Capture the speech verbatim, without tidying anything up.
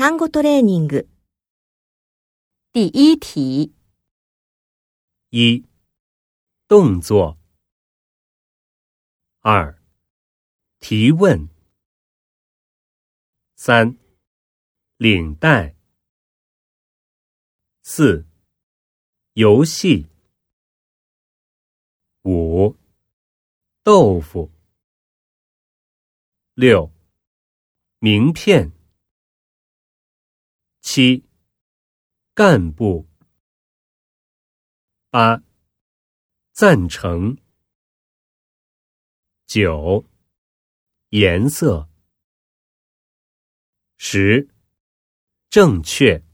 単語トレーニング。 第一题。 一、动作。二、提问。三、领带。四、游戏。五、豆腐。六、名片。七、干部。八、赞成。九、颜色。十、正确。